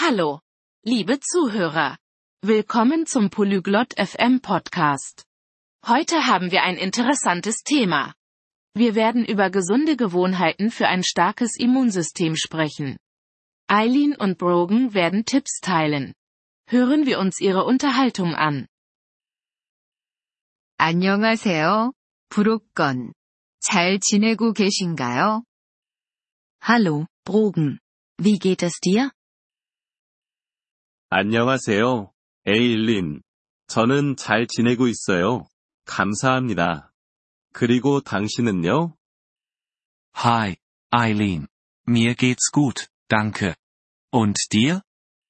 Hallo, liebe Zuhörer. Willkommen zum Polyglot FM Podcast. Heute haben wir ein interessantes Thema. Wir werden über gesunde Gewohnheiten für ein starkes Immunsystem sprechen. Eileen und Brogan werden Tipps teilen. Hören wir uns ihre Unterhaltung an. 안녕하세요, 브로건. 잘 지내고 계신가요? Hallo, Brogan. Wie geht es dir? 안녕하세요, 에일린. 저는 잘 지내고 있어요. 감사합니다. 그리고 당신은요? Hi, Eileen. Mir geht's gut, danke. Und dir?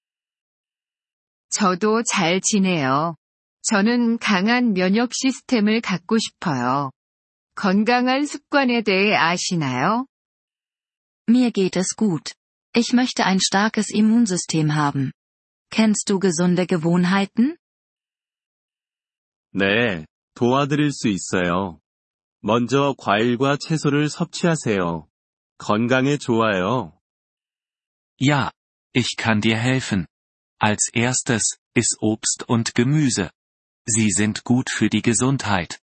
저도 잘 지내요. 저는 강한 면역 시스템을 갖고 싶어요. 건강한 습관에 대해 아시나요? Mir geht es gut. Ich möchte ein starkes Immunsystem haben. Kennst du gesunde Gewohnheiten? 네, 도와드릴 수 있어요. 먼저 과일과 채소를 섭취하세요. 건강에 좋아요. Ja, ich kann dir helfen. Als erstes, iss Obst und Gemüse. Sie sind gut für die Gesundheit.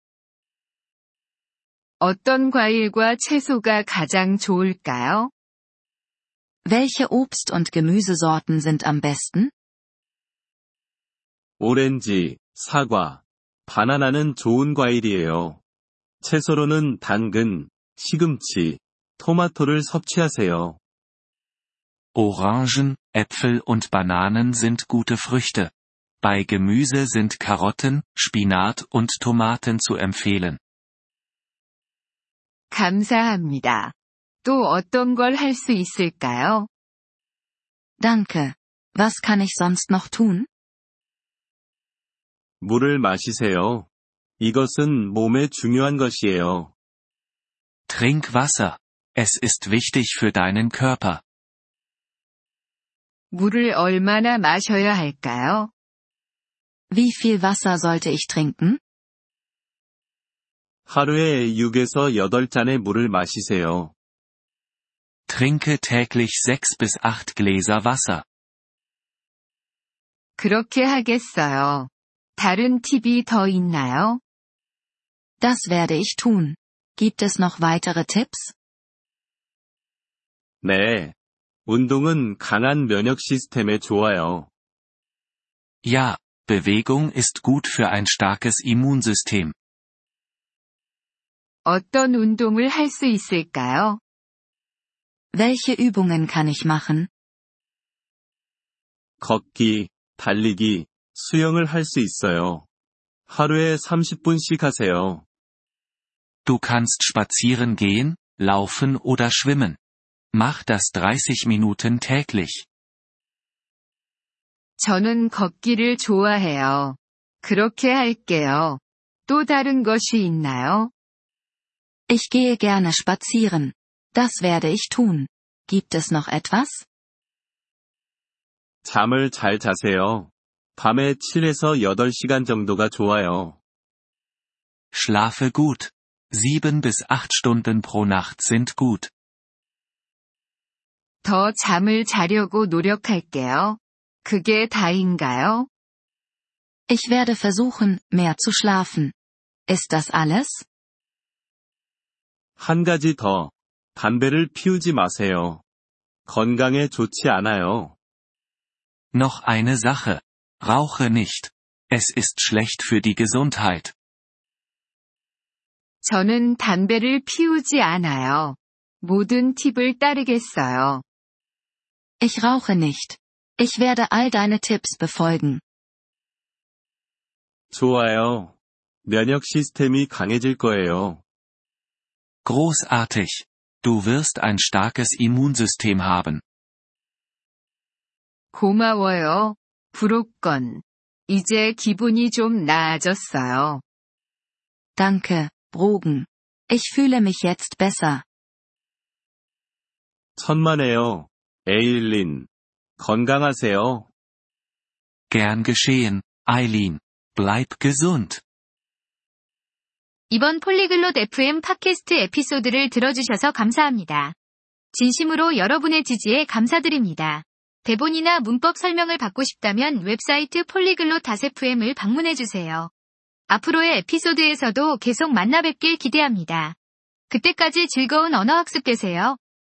어떤 과일과 채소가 가장 좋을까요? Welche Obst- und Gemüsesorten sind am besten? 오렌지, 사과, 바나나는 좋은 과일이에요. 채소로는 당근, 시금치, 토마토를 섭취하세요. Orangen, Äpfel und Bananen sind gute Früchte. Bei Gemüse sind Karotten, Spinat und Tomaten zu empfehlen. 감사합니다. 또 어떤 걸 할 수 있을까요? Danke. Was kann ich sonst noch tun? 물을 마시세요. 이것은 몸에 중요한 것이에요. Trink Wasser. Es ist wichtig für deinen Körper. 물을 얼마나 마셔야 할까요? Wie viel Wasser sollte ich trinken? 하루에 6에서 8잔의 물을 마시세요. Trinke täglich 6 bis 8 Gläser Wasser. 그렇게 하겠어요. 다른 팁이 더 있나요? Das werde ich tun. Gibt es noch weitere Tipps? 네. 운동은 강한 면역 시스템에 좋아요. Ja, Bewegung ist gut für ein starkes Immunsystem. 어떤 운동을 할 수 있을까요? Welche Übungen kann ich machen? 걷기, 달리기, 수영을 할 수 있어요. 하루에 30분씩 하세요. Du kannst spazieren gehen, laufen oder schwimmen. Mach das 30 Minuten täglich. 저는 걷기를 좋아해요. 그렇게 할게요. 또 다른 것이 있나요? Ich gehe gerne spazieren. Das werde ich tun. Gibt es noch etwas? 잠을 잘 자세요. 밤에 7에서 8시간 정도가 좋아요. Schlafe gut. 7 bis 8 Stunden pro Nacht sind gut. 더 잠을 자려고 노력할게요. 그게 다인가요? Ich werde versuchen, mehr zu schlafen. Ist das alles? 한 가지 더. 담배를 피우지 마세요. 건강에 좋지 않아요. Noch eine Sache. Rauche nicht. Es ist schlecht für die Gesundheit. 저는 담배를 피우지 않아요. 모든 팁을 따르겠어요. Ich rauche nicht. Ich werde all deine Tipps befolgen. 좋아요. 면역 시스템이 강해질 거예요. Großartig. Du wirst ein starkes Immunsystem haben. 고마워요, 브로건. 이제 기분이 좀 나아졌어요. Danke, Brogan. Ich fühle mich jetzt besser. 천만에요, 에일린. 건강하세요. Gern geschehen, Eileen. Bleib gesund. 이번 폴리글롯 FM 팟캐스트 에피소드를 들어주셔서 감사합니다. 진심으로 여러분의 지지에 감사드립니다. 대본이나 문법 설명을 받고 싶다면 웹사이트 polyglot.fm을 방문해주세요. 앞으로의 에피소드에서도 계속 만나 뵙길 기대합니다. 그때까지 즐거운 언어학습 되세요.